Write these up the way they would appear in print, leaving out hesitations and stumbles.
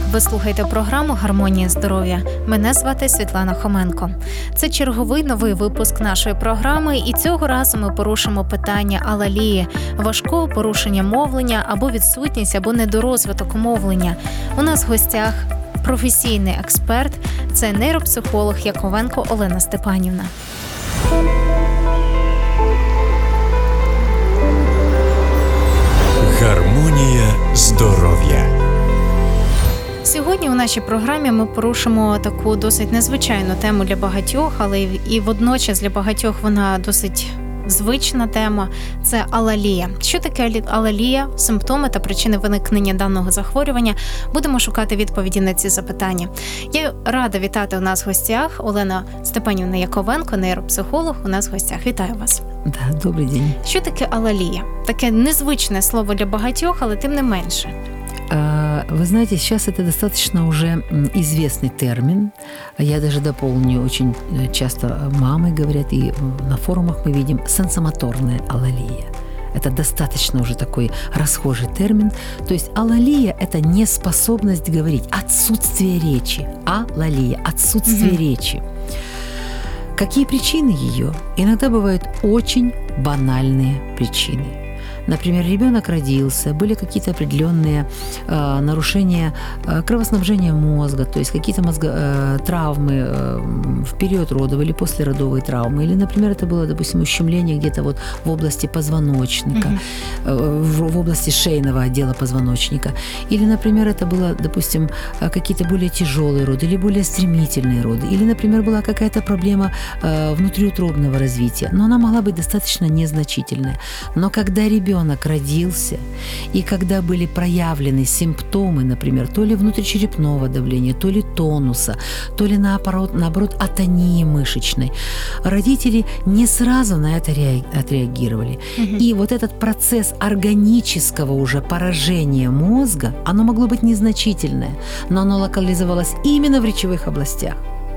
Ви слухаєте програму «Гармонія здоров'я». Мене звати Світлана Хоменко. Це черговий новий випуск нашої програми, і цього разу ми порушимо питання алалії, важкого порушення мовлення або відсутність або недорозвиток мовлення. У нас в гостях професійний експерт – це нейропсихолог Яковенко Олена Степанівна. Гармонія здоров'я. Сьогодні у нашій програмі ми порушимо таку досить незвичайну тему для багатьох, але і водночас для багатьох вона досить звична тема – це алалія. Що таке алалія, симптоми та причини виникнення даного захворювання? Будемо шукати відповіді на ці запитання. Я рада вітати у нас в гостях Олена Степанівна Яковенко, нейропсихолог, у нас в гостях. Вітаю вас. Да, добрий день. Що таке алалія? Таке незвичне слово для багатьох, але тим не менше. Вы знаете, сейчас это достаточно уже известный термин. Я даже дополню, очень часто мамы говорят, и на форумах мы видим сенсомоторная алалия. Это достаточно уже такой расхожий термин. То есть алалия – это неспособность говорить, отсутствие речи. Алалия – отсутствие речи. Какие причины ее? Иногда бывают очень банальные причины. Например, ребенок родился, были какие-то определенные нарушения кровоснабжения мозга, то есть какие-то травмы в период родов или послеродовые травмы. Или, например, это было, допустим, ущемление где-то вот в области позвоночника, в области шейного отдела позвоночника. Или, например, это было, допустим, какие-то более тяжелые роды или более стремительные роды. Или, например, была какая-то проблема внутриутробного развития. Но она могла быть достаточно незначительная. Но когда ребенок родился, и когда были проявлены симптомы, например, то ли внутричерепного давления, то ли тонуса, то ли наоборот атонии мышечной, родители не сразу на это отреагировали. И вот этот процесс органического уже поражения мозга, оно могло быть незначительное, но оно локализовалось именно в речевых областях.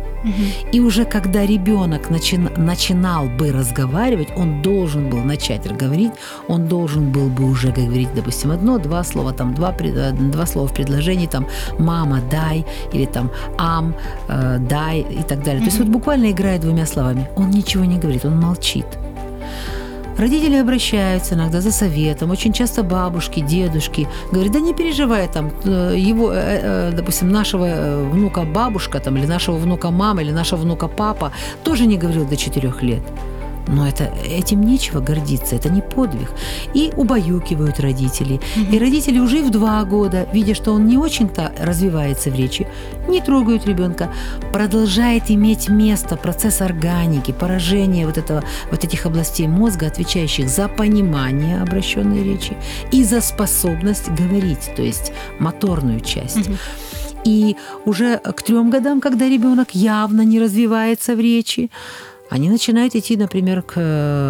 И уже когда ребенок начинал бы разговаривать, он должен был начать говорить, он должен был бы уже говорить, допустим, одно-два слова, там два слова в предложении, там «мама, дай» или там «ам, дай» и так далее. То есть вот буквально играет двумя словами. Он ничего не говорит, он молчит. Родители обращаются иногда за советом, очень часто бабушки, дедушки говорят, да не переживай, там, его, допустим, нашего внука бабушка, там, или нашего внука мама, или нашего внука папа тоже не говорил до 4 лет. Но этим нечего гордиться, это не подвиг. И убаюкивают родителей. И родители уже и в 2 года, видя, что он не очень-то развивается в речи, не трогают ребенка. Продолжает иметь место процесс органики, поражение вот этих областей мозга, отвечающих за понимание обращенной речи и за способность говорить, то есть моторную часть. И уже к 3 годам, когда ребенок явно не развивается в речи, они начинают идти, например, к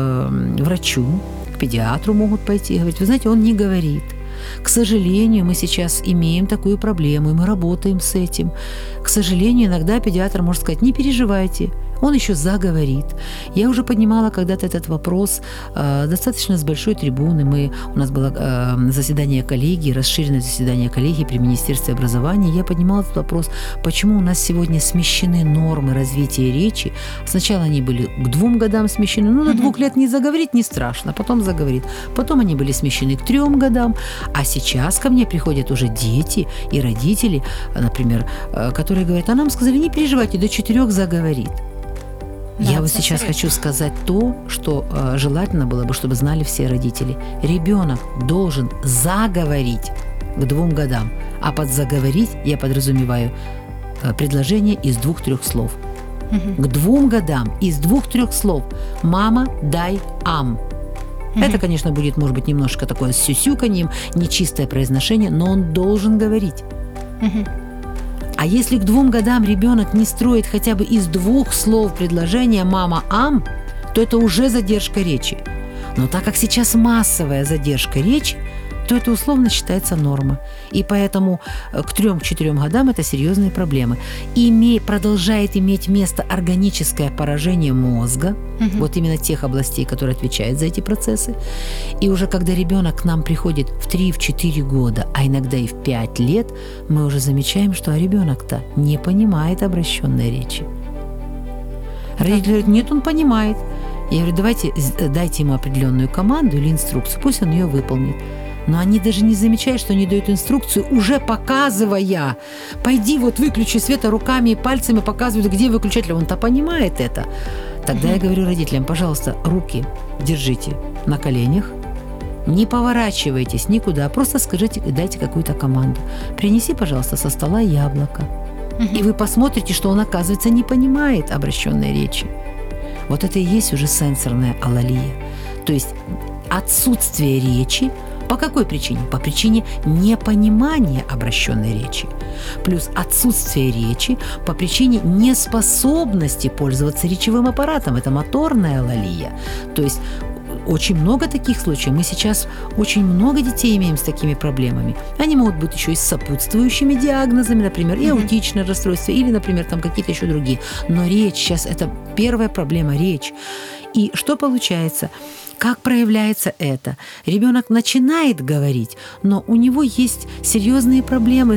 врачу, к педиатру могут пойти и говорить, вы знаете, он не говорит. К сожалению, мы сейчас имеем такую проблему, и мы работаем с этим. К сожалению, иногда педиатр может сказать, не переживайте, он еще заговорит. Я уже поднимала когда-то этот вопрос достаточно с большой трибуны. У нас было заседание коллегии, расширенное заседание коллегии при Министерстве образования. Я поднимала этот вопрос, почему у нас сегодня смещены нормы развития речи. Сначала они были к 2 годам смещены, до 2 лет не заговорить не страшно, потом заговорит. Потом они были смещены к 3 годам, а сейчас ко мне приходят уже дети и родители, например, которые говорят, а нам сказали, не переживайте, до 4 заговорит. Да, я вот сейчас хочу сказать то, что желательно было бы, чтобы знали все родители. Ребенок должен заговорить к 2 годам, а под заговорить я подразумеваю предложение из 2-3 слов. К 2 годам из 2-3 слов «мама, дай, ам». Это, конечно, будет, может быть, немножко такое с сюсюканьем, нечистое произношение, но он должен говорить. А если к 2 годам ребенок не строит хотя бы из 2 слов предложения «мама, ам», то это уже задержка речи. Но так как сейчас массовая задержка речи, то это условно считается норма. И поэтому к 3-4 годам это серьезные проблемы. Продолжает иметь место органическое поражение мозга, вот именно тех областей, которые отвечают за эти процессы. И уже когда ребенок к нам приходит в 3-4 года, а иногда и в 5 лет, мы уже замечаем, что ребенок-то не понимает обращенной речи. Родители говорят, нет, он понимает. Я говорю, дайте ему определенную команду или инструкцию, пусть он ее выполнит. Но они даже не замечают, что они дают инструкцию, уже показывая. Пойди вот выключи свет, руками и пальцами показывают, где выключатель. Он-то понимает это. Тогда я говорю родителям, пожалуйста, руки держите на коленях, не поворачивайтесь никуда, просто скажите, дайте какую-то команду. Принеси, пожалуйста, со стола яблоко. И вы посмотрите, что он, оказывается, не понимает обращенной речи. Вот это и есть уже сенсорная алалия. То есть отсутствие речи. По какой причине? По причине непонимания обращенной речи. Плюс отсутствие речи по причине неспособности пользоваться речевым аппаратом. Это моторная алалия. То есть очень много таких случаев. Мы сейчас очень много детей имеем с такими проблемами. Они могут быть еще и с сопутствующими диагнозами, например, и аутичное расстройство, или, например, там какие-то еще другие. Но речь сейчас – это первая проблема – речь. И что получается? Как проявляется это? Ребенок начинает говорить, но у него есть серьезные проблемы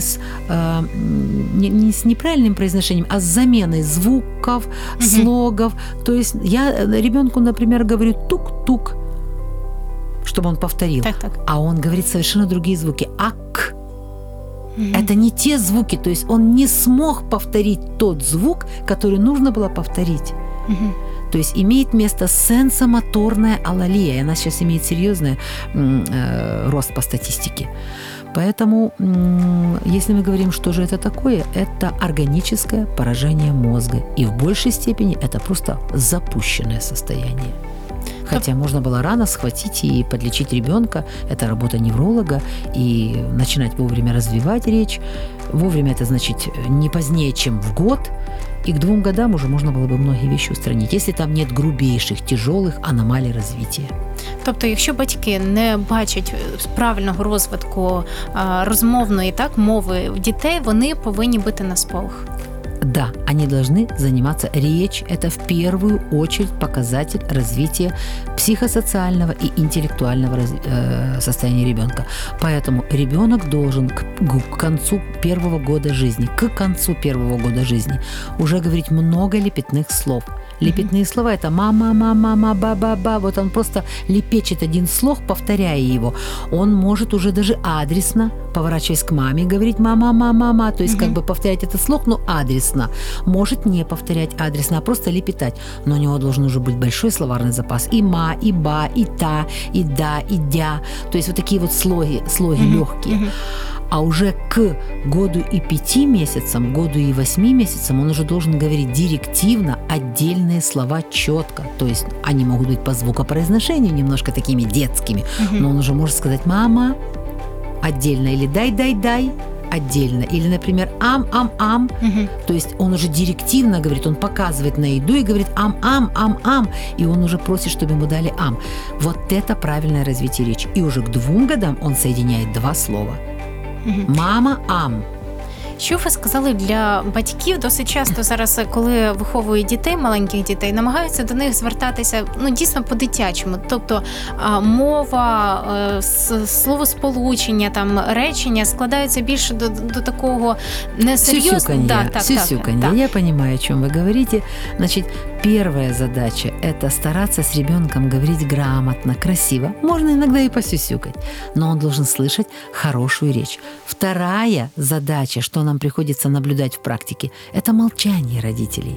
не с неправильным произношением, а с заменой звуков, слогов. То есть я ребенку, например, говорю тук-тук, чтобы он повторил. Так. А он говорит совершенно другие звуки. Ак. Это не те звуки, то есть он не смог повторить тот звук, который нужно было повторить. То есть имеет место сенсомоторная алалия, и она сейчас имеет серьезный рост по статистике. Поэтому, если мы говорим, что же это такое, это органическое поражение мозга. И в большей степени это просто запущенное состояние. Хотя можно было рано схватить и подлечить ребенка. Это работа невролога. И начинать вовремя развивать речь. Вовремя это значит не позднее, чем в год. И к 2 годам уже можна було б многі вещи устранити, якщо там нет грубейших, тяжелых аномалій розвитку. Тобто, якщо батьки не бачать правильного розвитку розмовної мови дітей, вони повинні бити на сполох. Да, они должны заниматься. Речь – это в первую очередь показатель развития психосоциального и интеллектуального состояния ребенка. Поэтому ребенок должен к концу 1 года жизни, уже говорить много лепетных слов. Лепетные слова – это мама, мама, мама, ба-ба-ба. Вот он просто лепечет один слог, повторяя его. Он может уже даже адресно, поворачиваясь к маме, говорить мама, мама, мама. То есть повторять этот слог, но адресно. Может не повторять адресно, а просто лепетать. Но у него должен уже быть большой словарный запас. И ма, и ба, и та, и да, и дя. То есть вот такие вот слоги легкие. А уже к году и 5 месяцам, году и 8 месяцам он уже должен говорить директивно отдельные слова четко. То есть они могут быть по звукопроизношению немножко такими детскими, но он уже может сказать «мама» отдельно или «дай-дай-дай» отдельно. Или, например, «ам-ам-ам». То есть он уже директивно говорит, он показывает на еду и говорит «ам-ам-ам-ам». И он уже просит, чтобы ему дали «ам». Вот это правильное развитие речи. И уже к 2 годам он соединяет 2 слова. Мама, ам. Що ви сказали для батьків? Досить часто зараз, коли виховують дітей, маленьких дітей, намагаються до них звертатися дійсно по-дитячому. Тобто мова, словосполучення, речення складаються більше до такого несерйозного. Сюсюканье. Я понимаю, о чем вы говорите. Значит, первая задача – это стараться с ребенком говорить грамотно, красиво. Можно иногда и посюсюкать, но он должен слышать хорошую речь. Вторая задача, что нам приходится наблюдать в практике, это молчание родителей.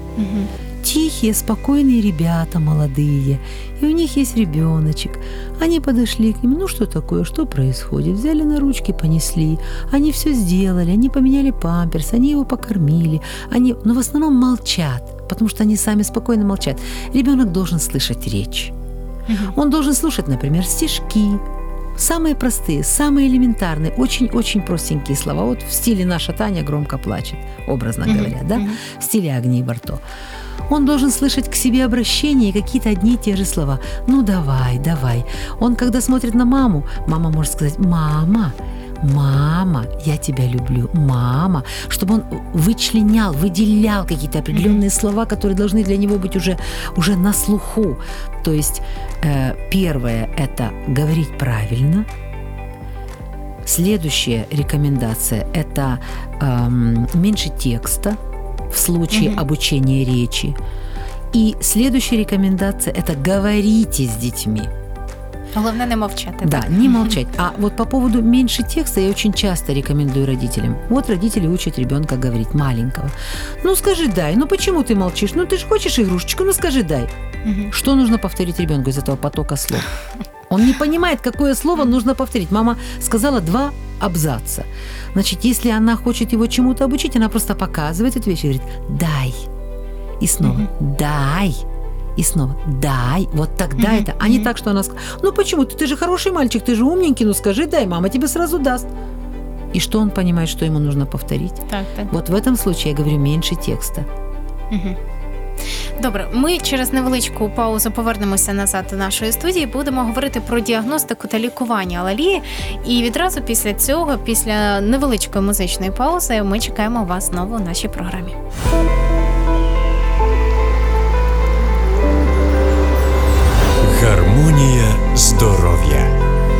Тихие, спокойные ребята молодые, и у них есть ребеночек. Они подошли к ним, ну что такое, что происходит? Взяли на ручки, понесли, они все сделали, они поменяли памперс, они его покормили, но в основном молчат, потому что они сами спокойно молчат. Ребенок должен слышать речь. Он должен слушать, например, стишки, самые простые, самые элементарные, очень-очень простенькие слова. Вот в стиле «Наша Таня громко плачет», образно говоря, да? В стиле Агнии Барто. Он должен слышать к себе обращения и какие-то одни и те же слова. Ну, давай, давай. Он, когда смотрит на маму, мама может сказать: мама, мама, я тебя люблю, мама, чтобы он вычленял, выделял какие-то определенные слова, которые должны для него быть уже на слуху. То есть первое – это говорить правильно. Следующая рекомендация – это меньше текста в случае обучения речи. И следующая рекомендация – это говорите с детьми. Головне не мовчати. Да, так? не молчать. А вот по поводу меньше текста я очень часто рекомендую родителям. Вот родители учат ребенка говорить, маленького. Ну скажи дай, ну почему ты молчишь? Ну ты же хочешь игрушечку, ну скажи дай. Что нужно повторить ребенку из этого потока слов? Он не понимает, какое слово нужно повторить. Мама сказала 2 абзаца. Значит, если она хочет его чему-то обучить, она просто показывает эту вещь и говорит: дай. И снова дай. И снова дай. Вот тогда это, а не так, что она скажет: ну почему? Ты же хороший мальчик, ты же умненький, ну скажи дай, мама тебе сразу даст. И что он понимает, что ему нужно повторить? Так. Вот в этом случае я говорю меньше текста. Добре, ми через невеличку паузу повернемося назад до нашої студії, будемо говорити про діагностику та лікування алалії. І відразу після цього, після невеличкої музичної паузи, ми чекаємо вас знову у нашій програмі. Гармонія здоров'я.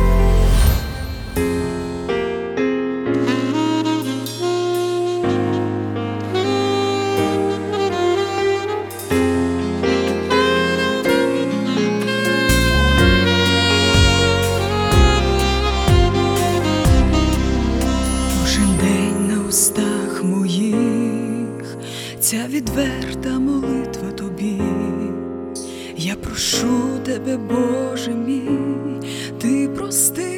Кожен день на устах моїх ця відверта молитва тобі. Я прошу тебе, Боже мій, ти прости,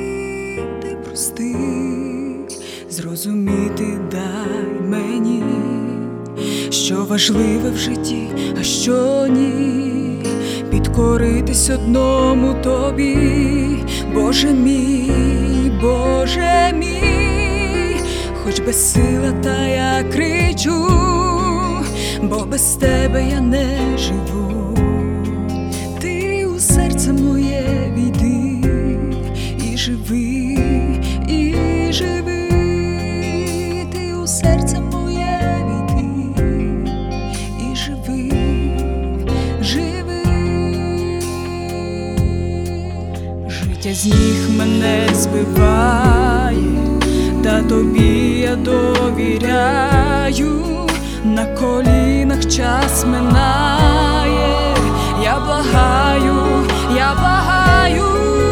зрозуміти дай мені, що важливе в житті, а що ні, підкоритись одному тобі, Боже мій, хоч безсила, та я кричу, бо без тебе я не живу. Ти у серце моє війди і живи, ти у серце моє війди і живи. Життя з ніг мене збиває, та тобі я довіряю. На колінах час минає, я благаю,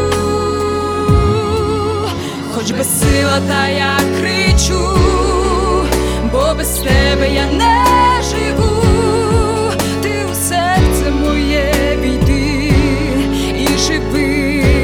хоч безсила, та я кричу, бо без тебе я не живу. Ти у серце моє війди і живи.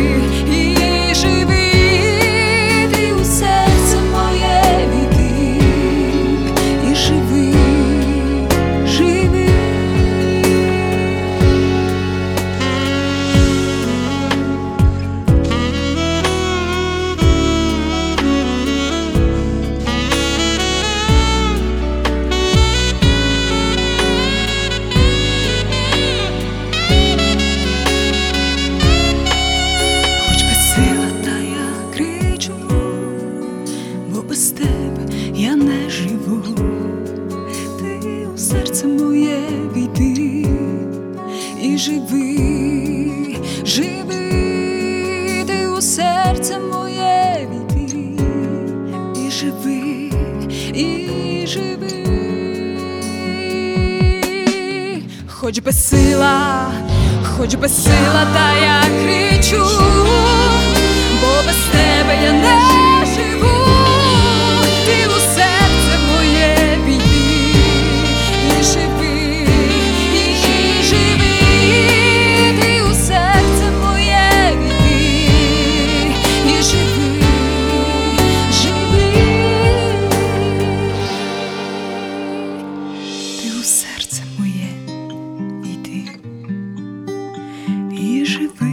Хоч безсила, та я кричу, бо без тебе я не живу. Ти у серце моє війди і живи, ти у серце моє війди і живи. Ти у серце моє війди і живи.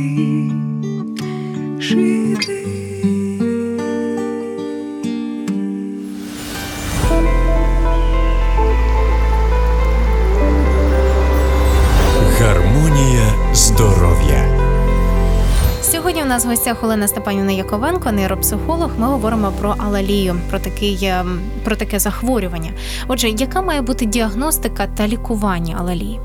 здоров'я. Сьогодні у нас в гостях Олена Степанівна Яковенко, нейропсихолог. Ми говоримо про алалію, про таке захворювання. Отже, яка має бути діагностика та лікування алалії?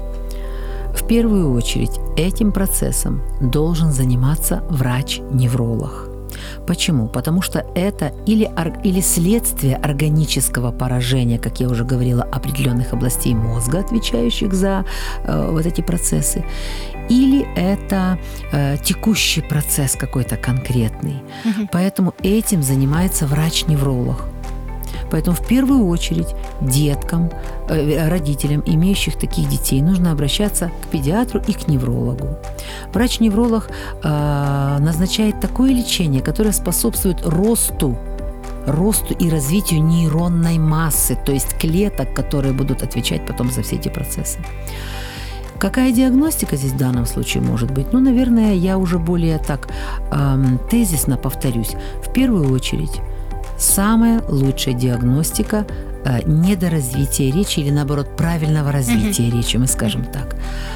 В первую очередь этим процессом должен заниматься врач-невролог. Почему? Потому что это или следствие органического поражения, как я уже говорила, определенных областей мозга, отвечающих за вот эти процессы, или это текущий процесс какой-то конкретный. Поэтому этим занимается врач-невролог. Поэтому в первую очередь деткам, родителям, имеющих таких детей, нужно обращаться к педиатру и к неврологу. Врач-невролог назначает такое лечение, которое способствует росту и развитию нейронной массы, то есть клеток, которые будут отвечать потом за все эти процессы. Какая диагностика здесь в данном случае может быть? Наверное, я уже более так тезисно повторюсь. В первую очередь, самая лучшая диагностика недоразвития речи или, наоборот, правильного развития речи, мы скажем так.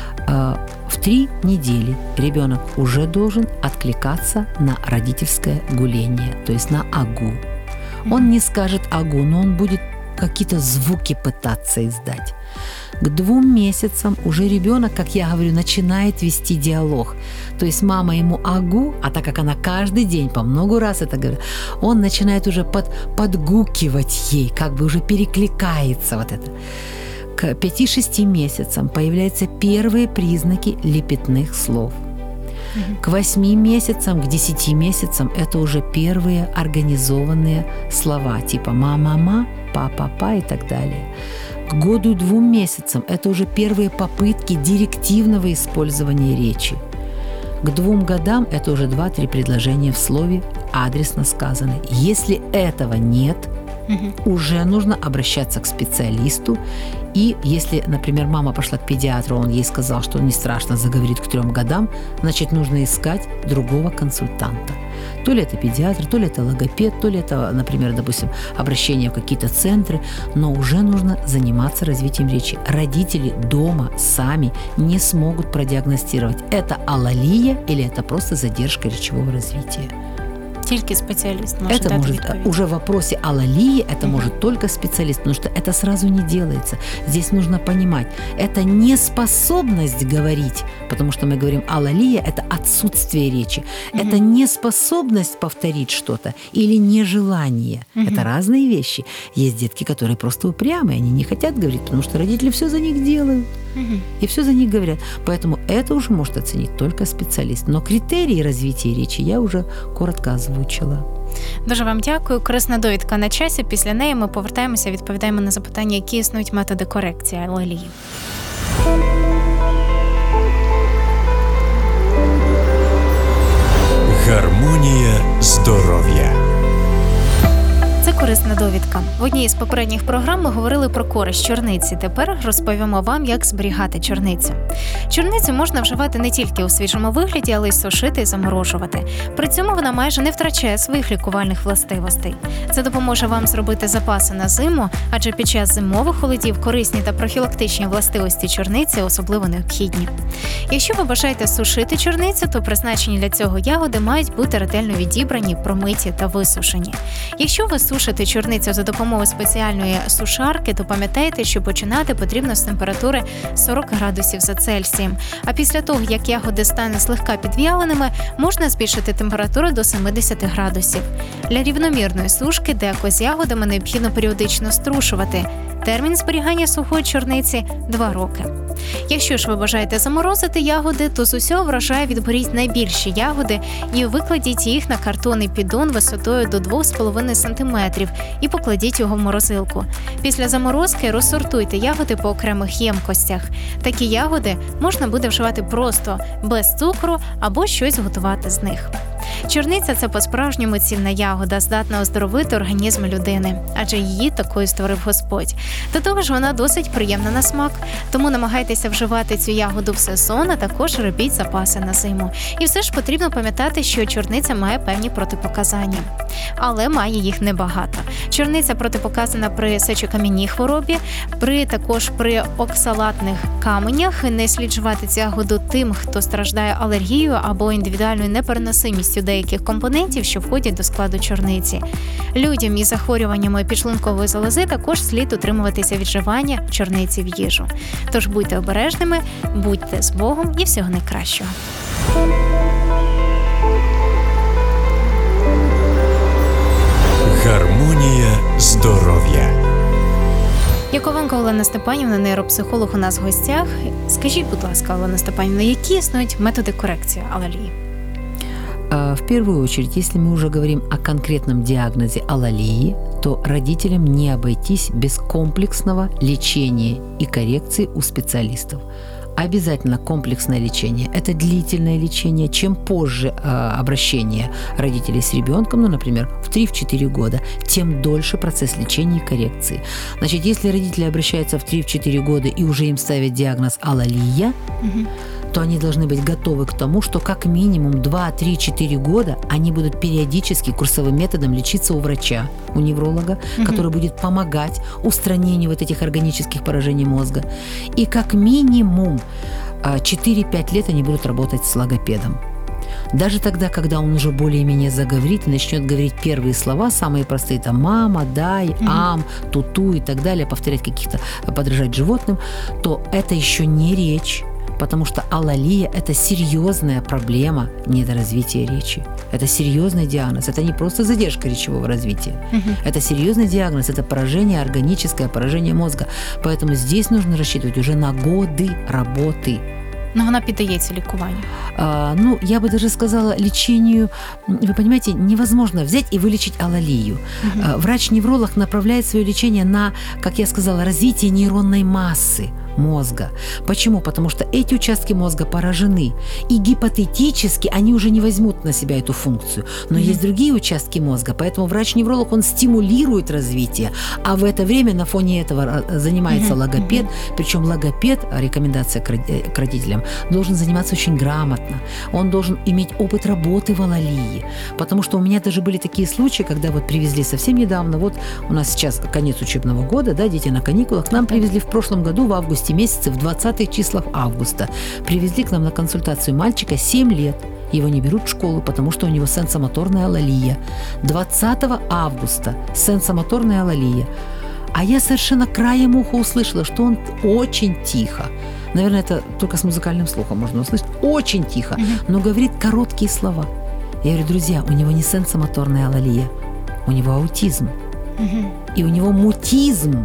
В 3 недели ребенок уже должен откликаться на родительское гуление, то есть на агу. Он не скажет агу, но он будет какие-то звуки пытаться издать. К 2 месяцам уже ребенок, как я говорю, начинает вести диалог. То есть мама ему агу, а так как она каждый день по много раз это говорит, он начинает уже подгукивать ей, как бы уже перекликается вот это. К 5-6 месяцам появляются первые признаки лепетных слов. К 8 месяцам, к 10 месяцам это уже первые организованные слова, типа «ма-ма-ма», «па-па-па» и так далее. К 1-2 месяцам это уже первые попытки директивного использования речи. К 2 годам это уже 2-3 предложения в слове, адресно сказаны. Если этого нет, уже нужно обращаться к специалисту. И если, например, мама пошла к педиатру, он ей сказал, что не страшно, заговорит к 3 годам, значит, нужно искать другого консультанта. То ли это педиатр, то ли это логопед, то ли это, например, допустим, обращение в какие-то центры, но уже нужно заниматься развитием речи. Родители дома сами не смогут продиагностировать, это алалия или это просто задержка речевого развития. Тільки спеціаліст може это дати может, відповідь. уже в вопросе алалии это может только специалист, потому что это сразу не делается. Здесь нужно понимать, это неспособность говорить, потому что мы говорим алалия – это отсутствие речи. Это неспособность повторить что-то или нежелание. Это разные вещи. Есть детки, которые просто упрямые, они не хотят говорить, потому что родители все за них делают. И все за них говорят. Поэтому это уже может оценить только специалист. Но критерии развития речи я уже коротко озвучила. Дуже вам дякую. Корисна довідка на часі. Після неї ми повертаємося, відповідаємо на запитання, які існують методи корекції алалії. Гармонія здоров'я. Це корисна довідка. В одній із попередніх програм ми говорили про користь чорниці. Тепер розповімо вам, як зберігати чорницю. Чорницю можна вживати не тільки у свіжому вигляді, але й сушити і заморожувати. При цьому вона майже не втрачає своїх лікувальних властивостей. Це допоможе вам зробити запаси на зиму, адже під час зимових холодів корисні та профілактичні властивості чорниці особливо необхідні. Якщо ви бажаєте сушити чорницю, то призначені для цього ягоди мають бути ретельно відібрані, промиті та висушені. Якщо ви сушите чорницю за допомогою спеціальної сушарки, то пам'ятайте, що починати потрібно з температури 40 градусів за Цельсієм. А після того, як ягоди стануть злегка підв'яленими, можна збільшити температуру до 70 градусів. Для рівномірної сушки деко з ягодами необхідно періодично струшувати. Термін зберігання сухої чорниці – 2 роки. Якщо ж ви бажаєте заморозити ягоди, то з усього врожаю відберіть найбільші ягоди і викладіть їх на картонний піддон висотою до 2,5 см і покладіть його в морозилку. Після заморозки розсортуйте ягоди по окремих ємкостях. Такі ягоди можна буде вживати просто, без цукру або щось готувати з них. Чорниця – це по-справжньому цінна ягода, здатна оздоровити організм людини, адже її такою створив Господь. До того ж, вона досить приємна на смак, тому намагайтеся вживати цю ягоду в сезон, а також робіть запаси на зиму. І все ж потрібно пам'ятати, що чорниця має певні протипоказання, але має їх небагато. Чорниця протипоказана при сечокам'яній хворобі, також при оксалатних каменях. Не слід вживати цю ягоду тим, хто страждає алергією або індивідуальною непереносимістю деяких компонентів, що входять до складу чорниці. Людям із захворюваннями підшлункової залози також слід утримуватися від вживання чорниці в їжу. Тож будьте обережними, будьте з Богом і всього найкращого. Гармонія здоров'я. Яковенко Олена Степанівна, нейропсихолог, у нас в гостях. Скажіть, будь ласка, Олена Степанівна, які існують методи корекції алалії? В первую очередь, если мы уже говорим о конкретном диагнозе алалии, то родителям не обойтись без комплексного лечения и коррекции у специалистов. Обязательно комплексное лечение. Это длительное лечение. Чем позже обращение родителей с ребенком, например, в 3-4 года, тем дольше процесс лечения и коррекции. Значит, если родители обращаются в 3-4 года и уже им ставят диагноз алалия, то они должны быть готовы к тому, что как минимум 2-3-4 года они будут периодически курсовым методом лечиться у врача, у невролога, который будет помогать устранению вот этих органических поражений мозга. И как минимум 4-5 лет они будут работать с логопедом. Даже тогда, когда он уже более-менее заговорит и начнет говорить первые слова, самые простые, там «мама», «дай», «ам», «туту» и так далее, повторять каких-то, подражать животным, то это еще не речь, потому что алалия – это серьезная проблема недоразвития речи. Это серьезный диагноз. Это не просто задержка речевого развития. Это серьезный диагноз. Это поражение, органическое поражение мозга. Поэтому здесь нужно рассчитывать уже на годы работы. Но вона піддається лікуванню. Я бы даже сказала, лечению, вы понимаете, невозможно взять и вылечить алалию. Врач-невролог направляет свое лечение на, как я сказала, развитие нейронной массы мозга. Почему? Потому что эти участки мозга поражены. И гипотетически они уже не возьмут на себя эту функцию. Но есть другие участки мозга, поэтому врач-невролог, он стимулирует развитие. А в это время на фоне этого занимается логопед. Причем логопед, рекомендация к родителям, должен заниматься очень грамотно. Он должен иметь опыт работы в алалии. Потому что у меня даже были такие случаи, когда вот привезли совсем недавно, вот у нас сейчас конец учебного года, да, дети на каникулах, к нам привезли в прошлом году в августе месяце, в 20-х числах августа, привезли к нам на консультацию мальчика 7 лет. Его не берут в школу, потому что у него сенсомоторная алалия. 20 августа сенсомоторная алалия. А я совершенно краем уха услышала, что он очень тихо. Наверное, это только с музыкальным слухом можно услышать. Очень тихо, но говорит короткие слова. Я говорю, друзья, у него не сенсомоторная алалия, у него аутизм. И у него мутизм.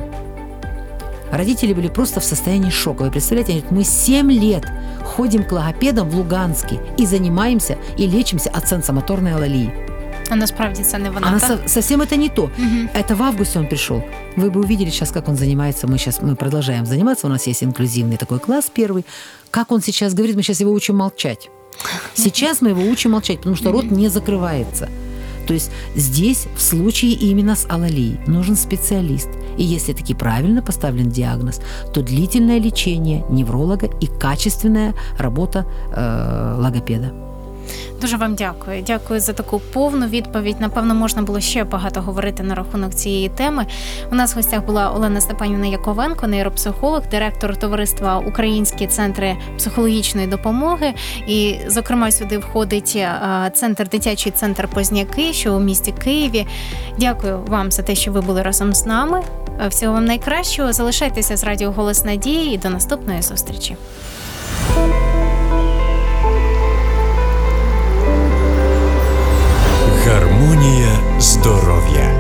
Родители были просто в состоянии шока. Вы представляете, они говорят, мы 7 лет ходим к логопедам в Луганске и занимаемся, и лечимся от сенсомоторной алалии. А насправді це не вона, так? Совсем это не то. Это в августе он пришел. Вы бы увидели сейчас, как он занимается. Мы продолжаем заниматься. У нас есть инклюзивный такой класс первый. Как он сейчас говорит, мы сейчас его учим молчать. Сейчас мы его учим молчать, потому что рот не закрывается. То есть здесь в случае именно с алалией нужен специалист. И если таки правильно поставлен диагноз, то длительное лечение невролога и качественная работа логопеда. Дуже вам дякую. Дякую за таку повну відповідь. Напевно, можна було ще багато говорити на рахунок цієї теми. У нас в гостях була Олена Степанівна Яковенко, нейропсихолог, директор товариства «Українські центри психологічної допомоги». І, зокрема, сюди входить дитячий центр «Позняки», що у місті Києві. Дякую вам за те, що ви були разом з нами. Всього вам найкращого. Залишайтеся з радіо «Голос Надії» і до наступної зустрічі. Гармонія здоров'я.